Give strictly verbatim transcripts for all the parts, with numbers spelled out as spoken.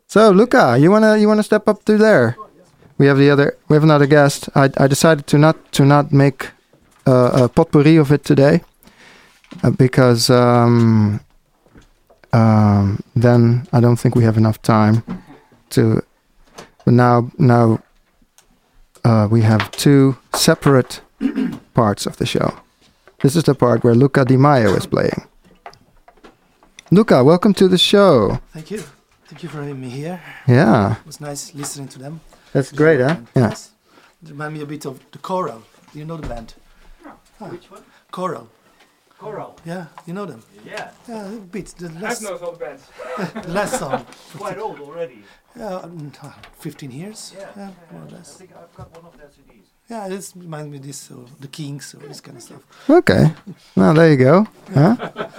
So Luca, you wanna you wanna step up to there? We have the other we have another guest. I I decided to not to not make uh, a potpourri of it today uh, because um, um, then I don't think we have enough time to. But now now uh, we have two separate parts of the show. This is the part where Luca Di Maio is playing. Luca, welcome to the show. Thank you. Thank you for having me here. Yeah. It was nice listening to them. That's great, huh? Yeah. Yes. It reminded me a bit of the Choral. Do you know the band? No. Ah. Which one? Choral. Choral. Yeah, you know them? Yeah. Yeah, a bit. The I've last, known all the bands. the last song. Quite old already. Yeah, um, uh, fifteen years. Yeah, yeah, yeah. more or I less. think I've got one of their C Ds. Yeah, this reminds me of this, or the Kings, or this kind of stuff. Okay. Well, there you go. Huh?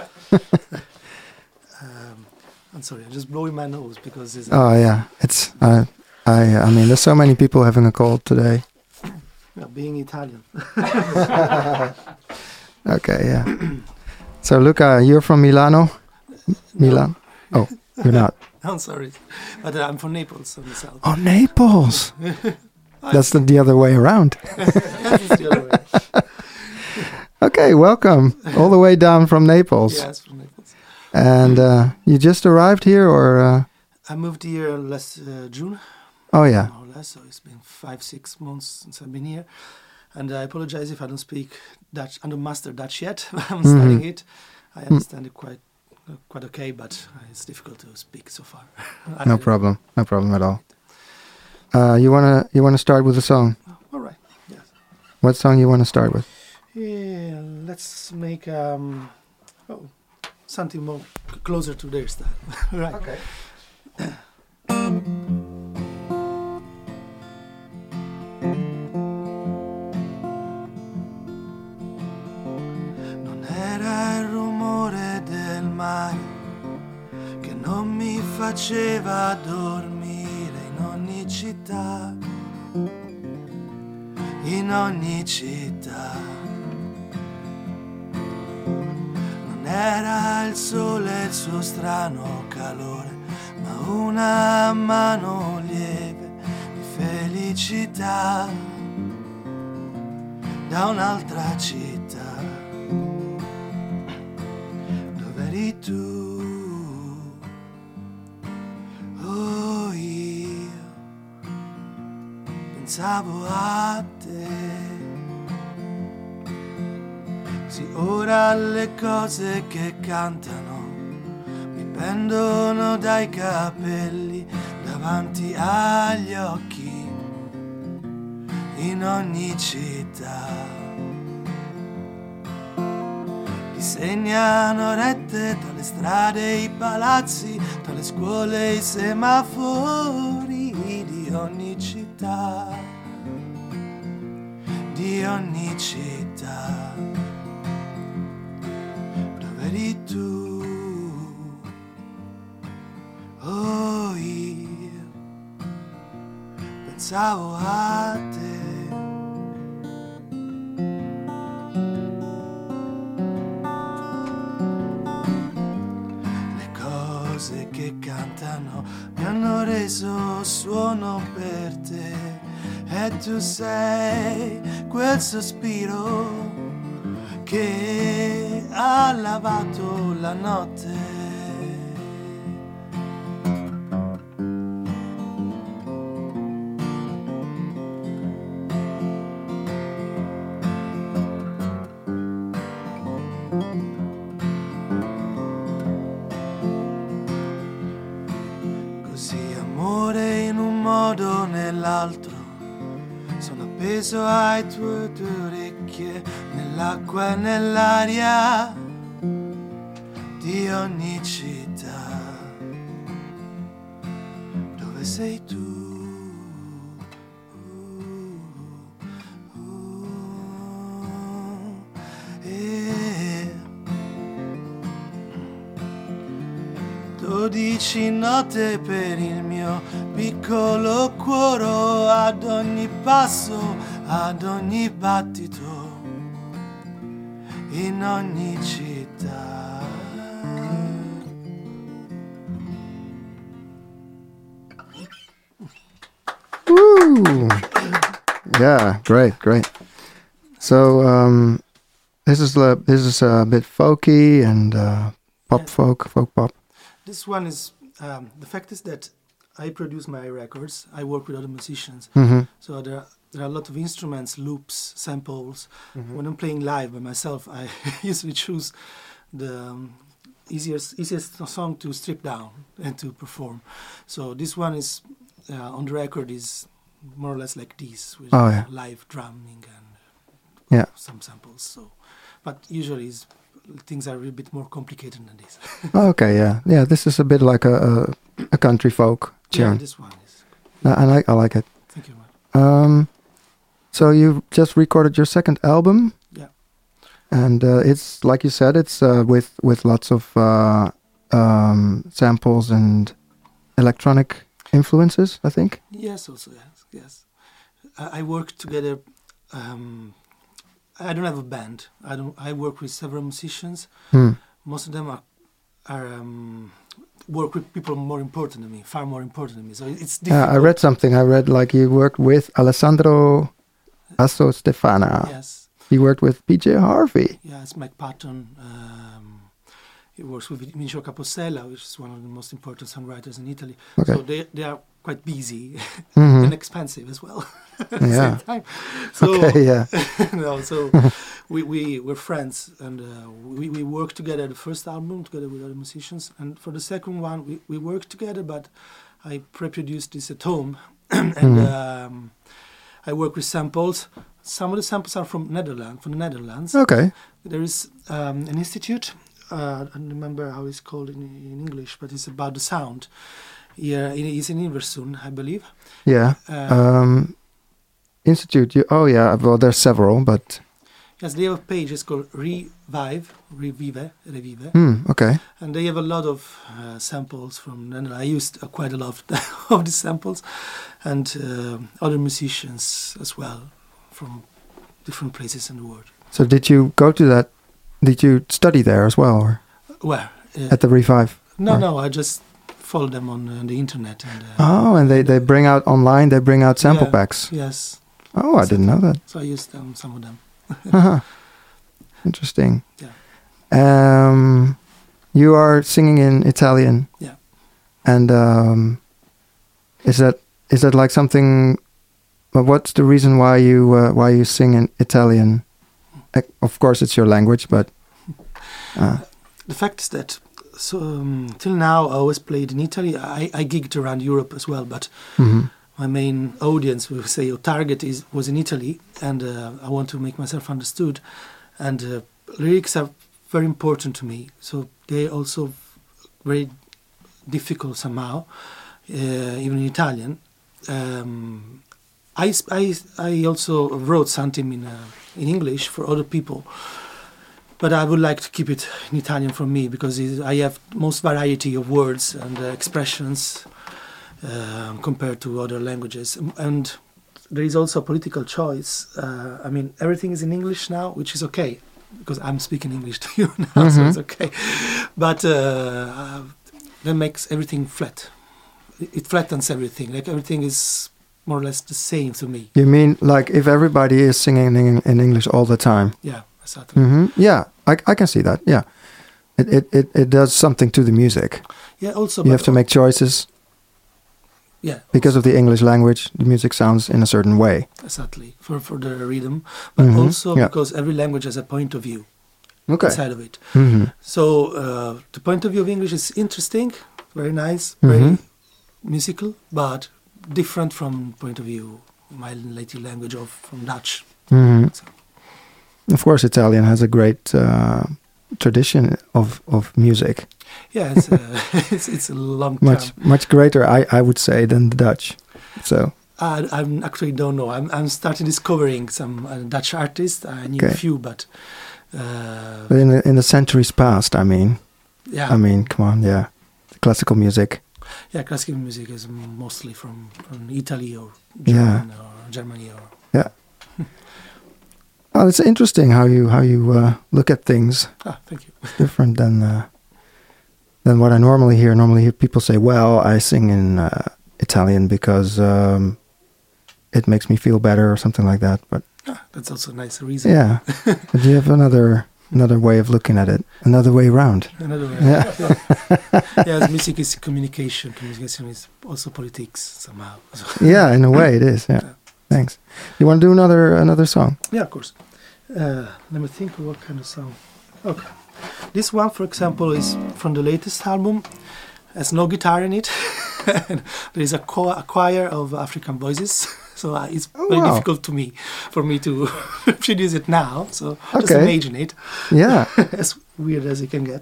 um, I'm sorry, I'm just blowing my nose because it's. Oh yeah, it's. Uh, I. I mean, there's so many people having a cold today. Yeah, being Italian. Okay. Yeah. So Luca, you're from Milano. Milan. Oh, you're not. I'm sorry, but uh, I'm from Naples, on the south. Oh, Naples. That's the, the other way around. It's the other way. Okay, welcome all the way down from Naples. Yes, from Naples. And uh, you just arrived here, or? Uh... I moved here last uh, June. Oh yeah. More or less, so it's been five, six months since I've been here. And I apologize if I don't speak Dutch. I don't master Dutch yet. I'm Mm-hmm. studying it. I understand it quite, uh, quite okay, but uh, it's difficult to speak so far. No problem. No problem at all. Uh, you wanna you wanna start with a song? All right. Yes. What song you wanna start with? Yeah. Let's make um, oh, something more c- closer to their style. Right. Okay. Non era il rumore del mare che non mi faceva dormire in ogni città, in ogni città. Non era il sole e il suo strano calore, ma una mano lieve di felicità da un'altra città. Dove eri tu? Oh, io pensavo a te. Sì, ora le cose che cantano mi pendono dai capelli davanti agli occhi in ogni città. Disegnano rette tra le strade e i palazzi, tra le scuole e i semafori di ogni città, di ogni città. Dove eri tu? Oh, io pensavo a te. Che cantano mi hanno reso suono per te, e tu sei quel sospiro che ha lavato la notte. Nell'altro sono appeso ai tuoi tue orecchie, nell'acqua e nell'aria di ogni città. Dove sei tu? Uh, uh, eh. Dodici note per il mio piccolo cuore, ad ogni passo, ad ogni battito, in ogni città. Woo! Yeah, great, great. So um, this is uh, this is a bit folky and uh, pop Yeah. folk, folk pop. This one is um, the fact is that I produce my records. I work with other musicians, Mm-hmm. so there are, there are a lot of instruments, loops, samples. Mm-hmm. When I'm playing live by myself, I usually choose the um, easiest easiest song to strip down and to perform. So this one is uh, on the record is more or less like this with Oh, yeah. live drumming and Yeah. some samples. So, but usually is, things are a bit more complicated than this. Oh, okay, yeah, yeah. This is a bit like a a, a country folk Yeah, tune. this one is. I, I like I like it. Thank you very much. Um, so you just recorded your second album. Yeah. And uh, it's like you said, it's uh, with with lots of uh, um, samples and electronic influences, I think. Yes, also yes, yes. I, I work together. Um, I don't have a band. I don't. I work with several musicians. Hmm. Most of them are are um, work with people more important than me, far more important than me. So it's difficult. Yeah, I read something. I read like you worked with Alessandro Asso Stefana. Yes, He worked with P J Harvey. yes. Mike Patton. Um, he works with Vincio Capossela, which is one of the most important songwriters in Italy. Okay. So they they are quite busy Mhm. and expensive as well. At the Yeah. same time. So Okay, yeah. no, so we we were friends and uh, we we worked together. The first album together with other musicians, and for the second one we we worked together. But I pre-produced this at home, and Mhm. um, I work with samples. Some of the samples are from Netherlands, from the Netherlands. Okay. There is um, an institute. Uh, I don't remember how it's called in, in English, but it's about the sound. Yeah, it is in Iversund, I believe. Yeah. Uh, Um, Institute. You, oh, yeah. Well, there's several, but yes, they have a page. It's called Revive, Revive, Revive. hmm. Okay. And they have a lot of uh, samples from Netherlands. I used uh, quite a lot of these samples, and uh, other musicians as well from different places in the world. So did you go to that? Did you study there as well, or Where? Uh, at the Revive? no, or- no, I just follow them on uh, the internet. And, uh, Oh, and they, they bring out online. They bring out sample Yeah. packs. Yes, Oh, I didn't know that. so I used um, some of them. Uh-huh. Interesting. Yeah. Um, you are singing in Italian. Yeah. And um, is that is that like something? Well, what's the reason why you uh, why you sing in Italian? Uh, of course, it's your language, but uh, The fact is that so um, till now I always played in Italy. I, I gigged around Europe as well, but mhm. my main audience, we say, or target is was in Italy, and uh, I want to make myself understood. And uh, lyrics are very important to me, so they also very difficult somehow, uh, even in Italian. Um, I, sp- I, I also wrote something in uh, in English for other people, but I would like to keep it in Italian for me because it, I have most variety of words and uh, expressions uh, compared to other languages. And there is also a political choice. Uh, I mean, everything is in English now, which is okay because I'm speaking English to you now, so Mhm. it's okay. But uh, uh, that makes everything flat. It, it flattens everything. Like everything is more or less the same to me. You mean like if everybody is singing in, in English all the time? Yeah, exactly. Hmm. Yeah, I, I can see that. Yeah, it, it, it, it does something to the music. Yeah, also. You but have to make choices yeah, because of the English language. The music sounds in a certain way. exactly for for the rhythm, but Mhm, also yeah. because every language has a point of view Okay. inside of it. Hmm. So uh, the point of view of English is interesting, very nice, Mhm. very musical, but different from point of view my native language of from Dutch. Hmm. So, Of course, Italian has a great uh, tradition of, of music. yeah, it's, uh, it's it's a long Much time. much greater, I, I would say, than the Dutch. So I I'm actually don't know. I'm I'm starting discovering some uh, Dutch artists. I knew Okay. a few, but uh, but in the, in the centuries past, I mean, yeah, I mean, come on, yeah, classical music. yeah, classical music is mostly from, from Italy or Yeah. German or Germany or Oh, it's interesting how you how you uh, look at things. ah, thank you. Different than uh, than what I normally hear. Normally, hear people say, "Well, I sing in uh, Italian because um, it makes me feel better or something like that. But Ah, that's also a nice reason. yeah, but you have another another way of looking at it, another way around. Another way. Yeah. Yeah. Yes, music is communication. Communication is also politics somehow. So- Yeah, in a way it is. Yeah. Thanks. You want to do another another song? Yeah, of course. Uh, let me think of what kind of song. Okay. This one, for example, is from the latest album. Has no guitar in it. There is a, cho- a choir of African voices. So uh, it's Oh, very wow. difficult to me, for me to produce it now. So just Okay. imagine it. Yeah. As weird as it can get.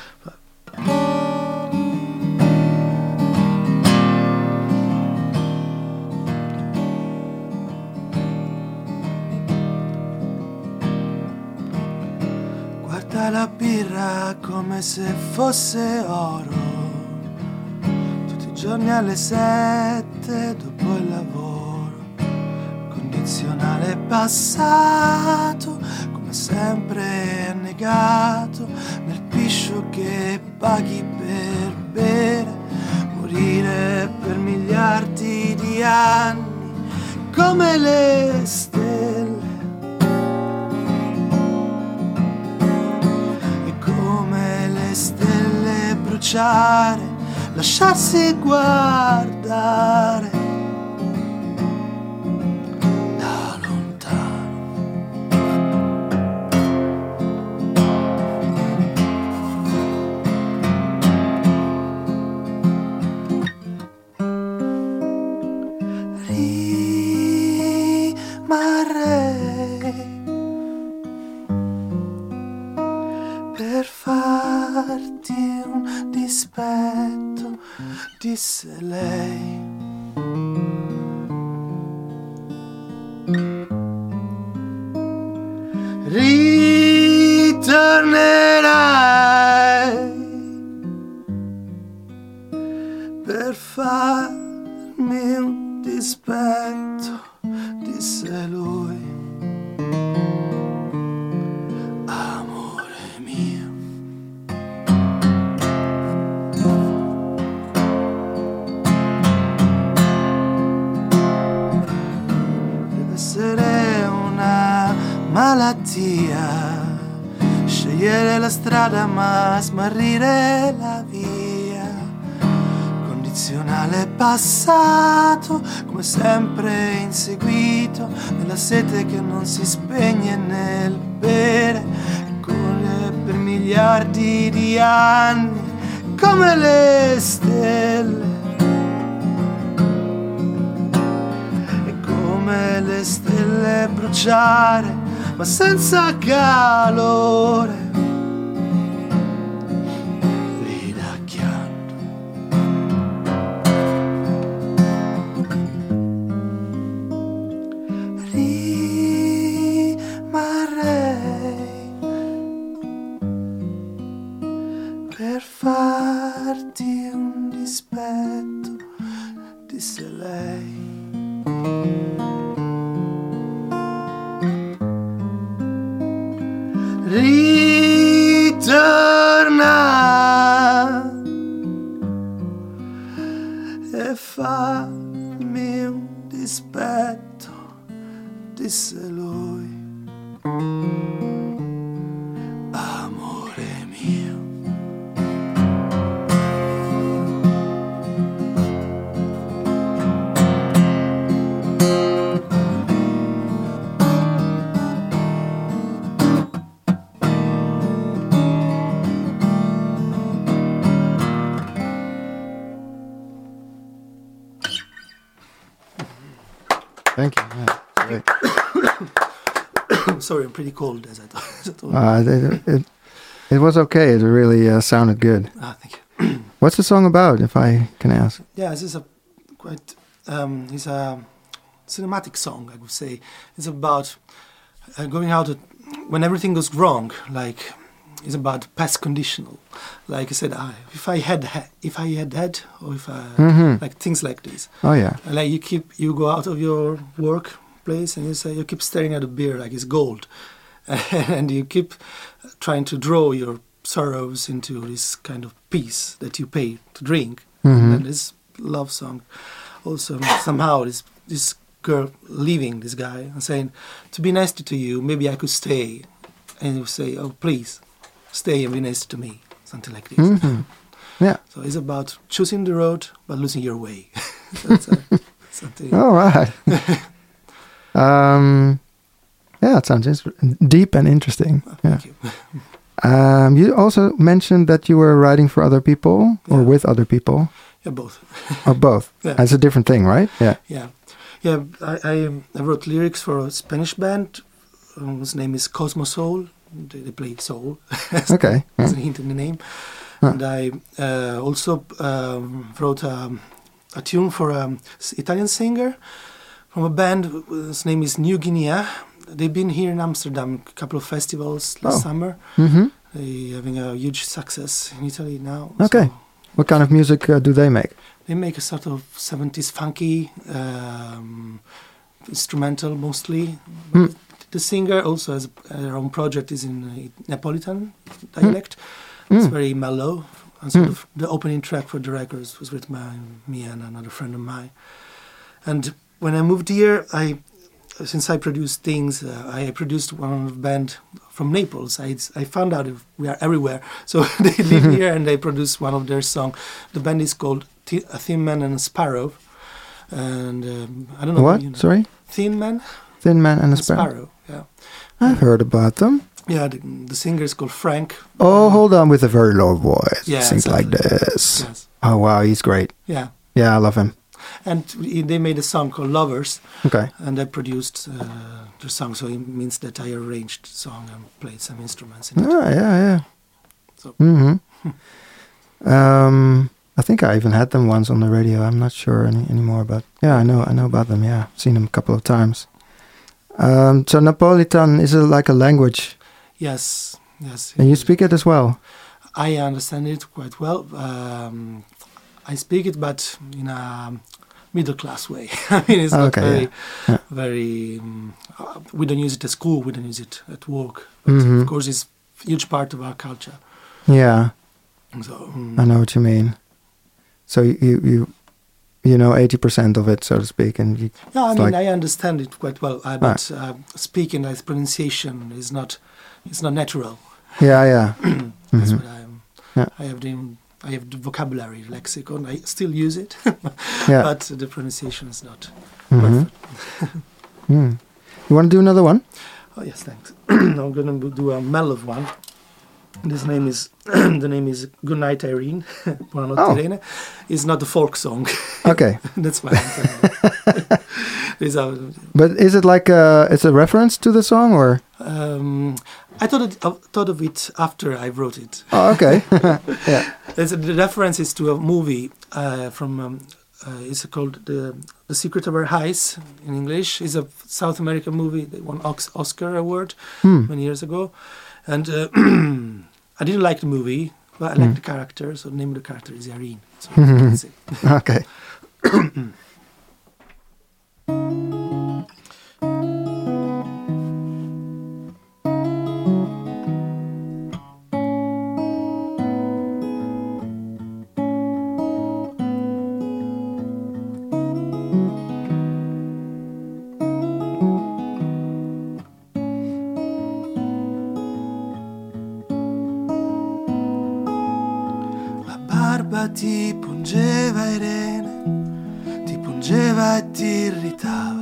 Guarda la birra come se fosse oro, tutti i giorni alle sette dopo il lavoro, condizionale passato, come sempre annegato nel piscio che paghi per bere, morire per miliardi di anni come le stelle. Stelle bruciare, lasciarsi guardare da lontano. Rimarrei per farti un dispetto, disse lei. Ritornerai per farmi un dispetto, disse lui. Malattia, scegliere la strada ma smarrire la via, condizionale passato, come sempre inseguito, nella sete che non si spegne nel bere, corre per miliardi di anni come le stelle. Come le stelle bruciare, ma senza calore, ridacchiando. Rimarrei per farti un dispetto, disse lei. Ritorna e fammi un dispetto, disse lui. Amore mio. Thank you. Yeah, great. Sorry, I'm pretty cold as I thought. As I told you. Uh, it, it, it was okay. It really uh, sounded good. Ah, thank you. What's the song about, if I can ask? Yeah, this is a quite. Um, it's a cinematic song, I would say. It's about uh, going out at, when everything goes wrong. Like it's about past conditional. Like I said, I, if I had, ha- if I had had, or if I Mhm. like things like this. Oh, yeah. And like you keep, you go out of your workplace and you say you keep staring at a beer like it's gold, and you keep trying to draw your sorrows into this kind of peace that you pay to drink. Mhm. And this love song also somehow this this girl leaving this guy and saying, to be nice to you, maybe I could stay. And he would say, oh, please, stay and be nice to me. Something like this. Mm-hmm. Yeah. So it's about choosing the road, but losing your way. That's uh, something. All right. um, yeah, it sounds ins- deep and interesting. Oh, yeah. thank you. Um, you also mentioned that you were writing for other people or Yeah. with other people, Yeah, both. or both. Yeah. That's a different thing, right? Yeah. Yeah, yeah. I, I, um, I wrote lyrics for a Spanish band um, whose name is Cosmo Soul. They, they play soul. as, Okay. as Yeah. a hint in the name. Huh. And I uh, also um, wrote um, a tune for an Italian singer from a band whose name is New Guinea. They've been here in Amsterdam, a couple of festivals last Oh. summer. Mm-hmm. They're having a huge success in Italy now. Okay. So What kind of music uh, do they make? they make a sort of seventies funky um, instrumental mostly. Hmm. The singer also has her own project is in uh, Neapolitan dialect. Mm. It's very mellow. And sort Mm. of the opening track for the records was written by me and another friend of mine. And when I moved here, I since I produced things, uh, I produced one of the band from Naples. I, I found out if we are everywhere. So they live here and they produce one of their songs. The band is called T- A Thin Man and a Sparrow. And um, I don't know. What? You know. Sorry? Thin Man Thin Man and a and Sparrow. Sparrow. Yeah. I've heard about them. Yeah, the, the singer is called Frank. Oh, hold on, with a very low voice. Yeah, Sings like exactly. this. Yes. Oh, wow, he's great. Yeah. Yeah, I love him. And we- they made a song called Lovers. Okay. And I produced uh, the song, so it means that I arranged the song and played some instruments in it. Ah, yeah, yeah. So- hmm um, I think I even had them once on the radio. I'm not sure any anymore, but yeah, I know, I know about them. Yeah, seen them a couple of times. Um, so Napolitan is it like a language, Yes, yes. and you speak it as well. I understand it quite well. Um, I speak it, but in a middle class way. I mean, it's not Okay, very, yeah. Yeah. very. Um, uh, we don't use it at school. We don't use it at work. But Mhm. of course, it's a huge part of our culture. Yeah, So um, I know what you mean. So you you you, you know eighty percent of it, so to speak, and you, yeah, I it's mean, like- I understand it quite well. Uh, but uh, speaking, like pronunciation is not. It's not natural. yeah, yeah. That's Mhm. what I'm. Yeah. I have the I have the vocabulary lexicon. I still use it, Yeah. but the pronunciation is not Mhm. perfect. Mm. You want to do another one? Oh yes, thanks. I'm gonna do a mellow one. This name is the name is Goodnight Irene. Buonanotte Oh. Irene. It's not a folk song. Okay. That's why I'm telling you. It's a, But is it like a, it's a reference to the song or? um, I thought it, I thought of it after I wrote it. Oh, okay. yeah. It's a, the reference is to a movie uh, from um, uh, it's called the The Secret of Our Eyes in English. It's a South American movie. They won Ox- Oscar award Hmm. many years ago, and uh, I didn't like the movie, but I liked Hmm. the character. So the name of the character is Irene. So that's it. Okay. La barba ti pungeva Irene, ti pungeva e ti irritava.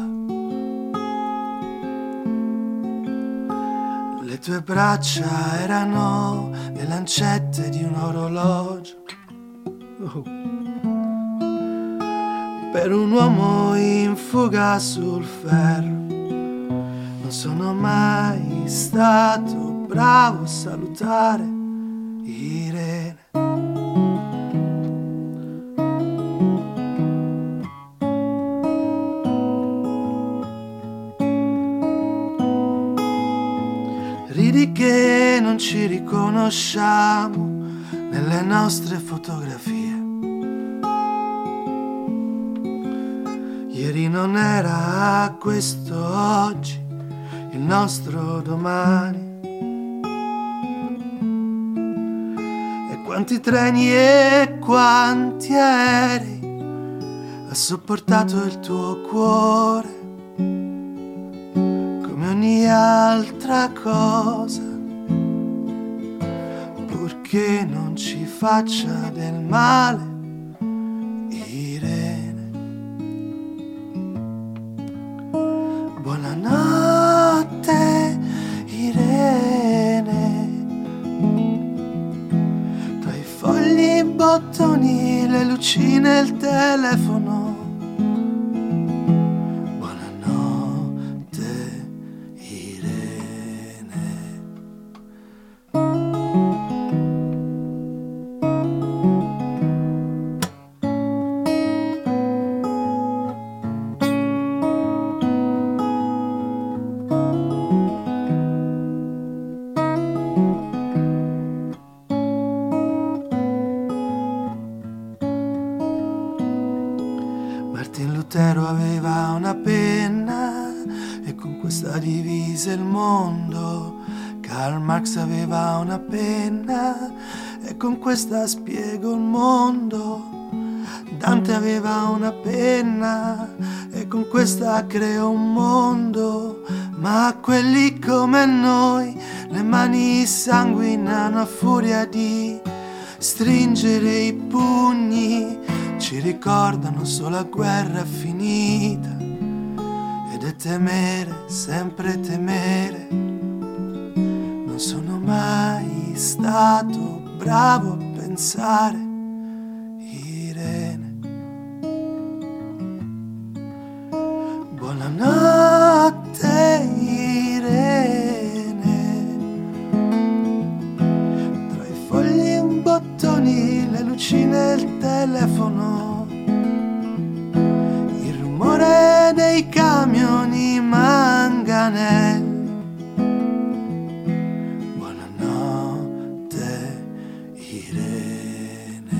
Le tue braccia erano le lancette di un orologio. Oh. Per un uomo in fuga sul ferro non sono mai stato bravo a salutare Irene. Ridi che non ci riconosciamo nelle nostre fotografie. Ieri non era questo oggi, il nostro domani. E quanti treni e quanti aerei ha sopportato il tuo cuore ogni altra cosa, purché non ci faccia del male, Irene. Buonanotte, Irene. Tra i fogli, i bottoni, le lucine e il telefono. Martin Lutero aveva una penna e con questa divise il mondo. Karl Marx aveva una penna e con questa spiego il mondo. Dante aveva una penna e con questa creò un mondo. Ma a quelli come noi le mani sanguinano a furia di stringere i pugni. Ci ricordano solo la guerra finita ed è temere, sempre temere. Non sono mai stato bravo a pensare, Irene. Buonanotte, Irene. Tra i fogli e i bottoni, le lucine e il telefono, il rumore dei camioni manganelli. Buonanotte, Irene.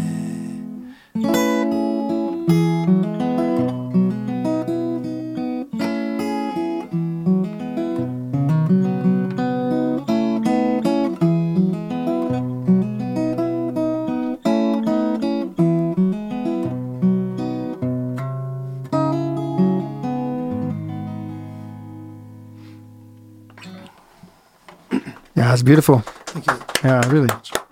Yeah, it's beautiful. Thank you. Yeah, really.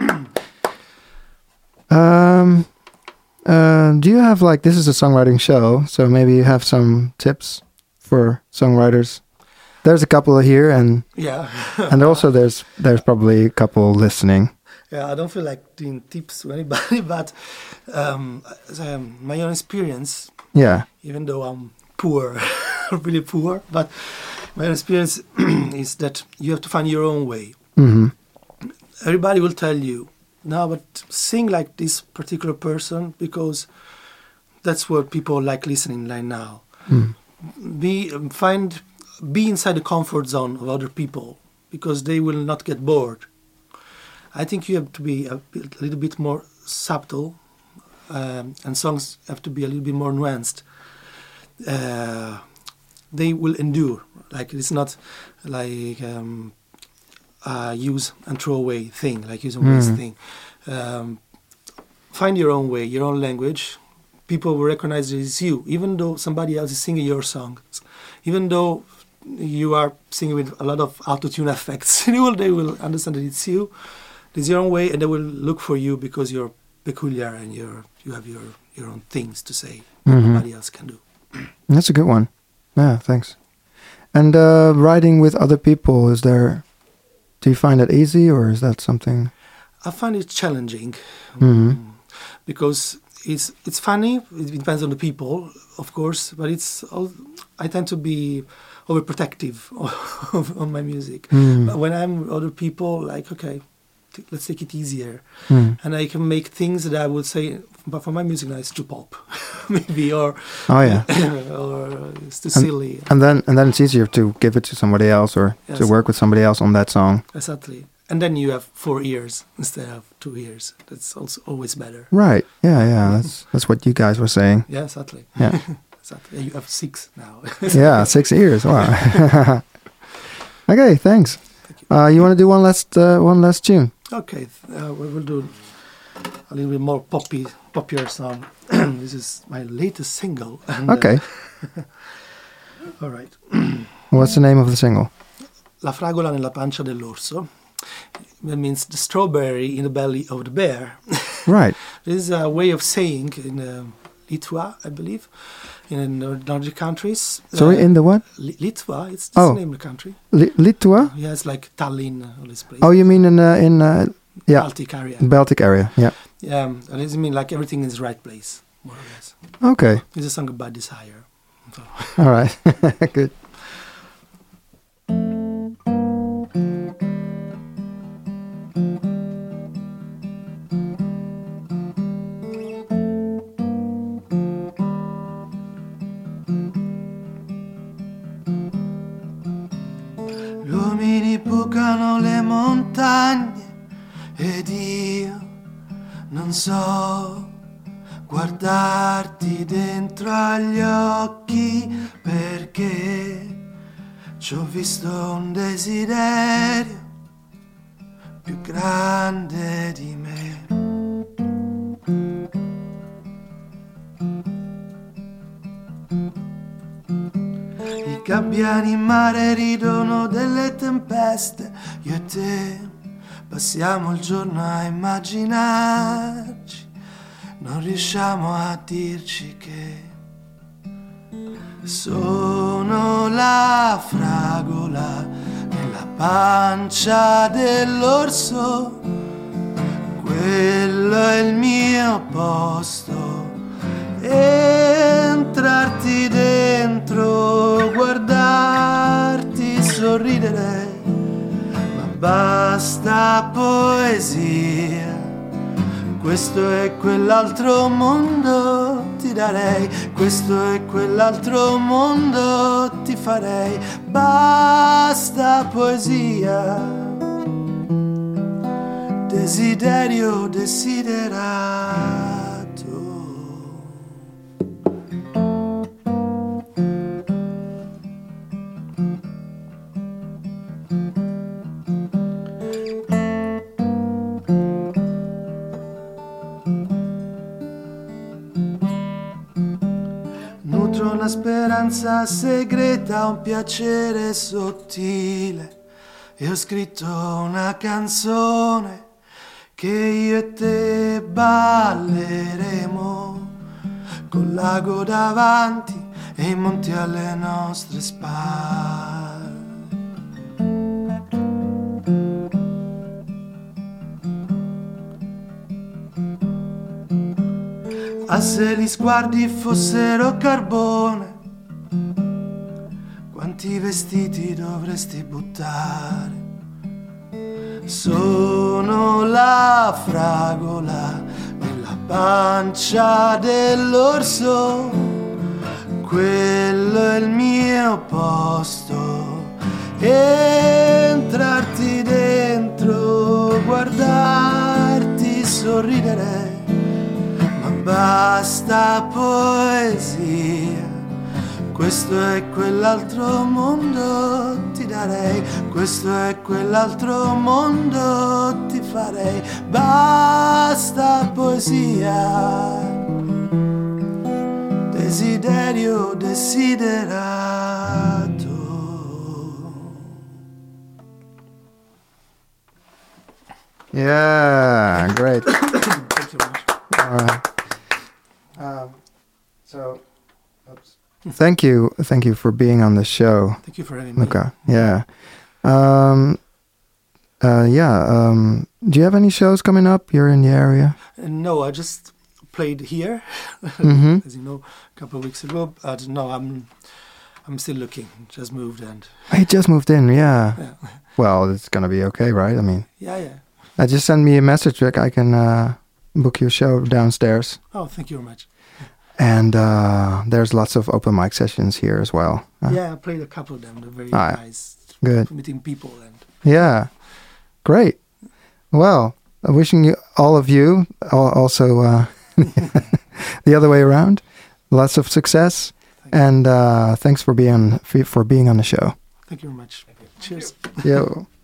um, uh, do you have like this is a songwriting show, so maybe you have some tips for songwriters? There's a couple here, and Yeah. and also there's there's probably a couple listening. Yeah, I don't feel like doing tips to anybody, but um, as, um, my own experience, Yeah. even though I'm poor, really poor, but my own experience is that you have to find your own way. Mm-hmm. Everybody will tell you, no, but sing like this particular person because that's what people like listening like now. Mm. Be um, find be inside the comfort zone of other people because they will not get bored. I think you have to be a, bit, a little bit more subtle, um, and songs have to be a little bit more nuanced. Uh, they will endure. Like it's not like um, a use and throw away thing, like use and waste Mm. thing. Um, find your own way, your own language. People will recognize it as you, even though somebody else is singing your songs. Even though you are singing with a lot of auto-tune effects, they will, they will understand that it's you. It's your own way, and they will look for you because you're peculiar and you're you have your your own things to say that Mhm. nobody else can do. That's a good one. Yeah, thanks. And uh, writing with other people, is there? Do you find that easy, or is that something? I find it challenging Mhm. um, because it's it's funny. It depends on the people, of course, but it's all, I tend to be overprotective of, of my music. Mm. But when I'm with other people, like okay, t- let's take it easier, Mm. and I can make things that I would say, but for my music now it's too pop, maybe, or Oh yeah. or it's too And- silly. And then and then it's easier to give it to somebody else or to Yes. work with somebody else on that song. Exactly. And then you have four ears instead of two ears. That's also always better. Right. Yeah, yeah. That's that's what you guys were saying. Yeah, exactly. Yeah. Exactly. You have six now. Yeah, six ears. Wow. Okay, thanks. Thank you. Uh, you want to do one last uh, one last tune? Okay, uh, we will do a little bit more poppy, poppier song. This is my latest single. And, uh, Okay. all right. What's the name of the single? la fragola nella pancia dell'orso. That means the strawberry in the belly of the bear. Right. This is a way of saying in uh, Litva, I believe, in the Nordic countries. Sorry, uh, in the what? Li- Litva, it's the Oh. name of the country. Li- Litua? Yeah, it's like Tallinn, uh, all this place. Oh, you mean in uh, in uh, yeah, Baltic area. Baltic area? Yeah. Um, and it means like everything is the right place, more or less. Okay. It's a song about desire. So. All right. Good. Gli uomini bucano le montagne ed io non so guardarti dentro agli occhi perché ci ho visto un desiderio più grande di me. I gabbiani in mare ridono delle tempeste, io e te passiamo il giorno a immaginarci, non riusciamo a dirci che sono la fragola nella pancia dell'orso, quello è il mio posto. Entrarti dentro, guardarti sorridere, ma basta poesia. Questo e quell'altro mondo ti darei, questo e quell'altro mondo ti farei. Basta poesia, desiderio desiderato. Nutro una speranza segreta, un piacere sottile e ho scritto una canzone che io e te balleremo col lago davanti e i monti alle nostre spalle. Ah, se gli sguardi fossero carbone, quanti vestiti dovresti buttare? Sono la fragola nella pancia dell'orso, quello è il mio posto. Entrarti dentro, guardarti sorridere, basta poesia, questo e quell'altro mondo ti darei, questo e quell'altro mondo ti farei. Basta poesia, desiderio desiderato. Yeah, great. Thank you very much. All right. Um, so, oops. Thank you, thank you for being on the show, Thank you for having me. Luca. Yeah, um, uh, yeah. Um, do you have any shows coming up? You're in the area. Uh, no, I just played here, Mhm. as you know, a couple of weeks ago. But no, I'm I'm still looking. Just moved and I just moved in. Yeah. yeah, Well, it's gonna be okay, right? I mean, yeah, yeah. I just send me a message like I can uh, book your show downstairs, Oh, thank you very much. and uh, there's lots of open mic sessions here as well. Uh, Yeah, I played a couple of them. They're very Ah, nice. good. Meeting people and Yeah, great. Well, uh, wishing you all of you al- also uh, the other way around. Lots of success, Thank you. and uh, thanks for being for being on the show. Thank you very much. Cheers. Yo.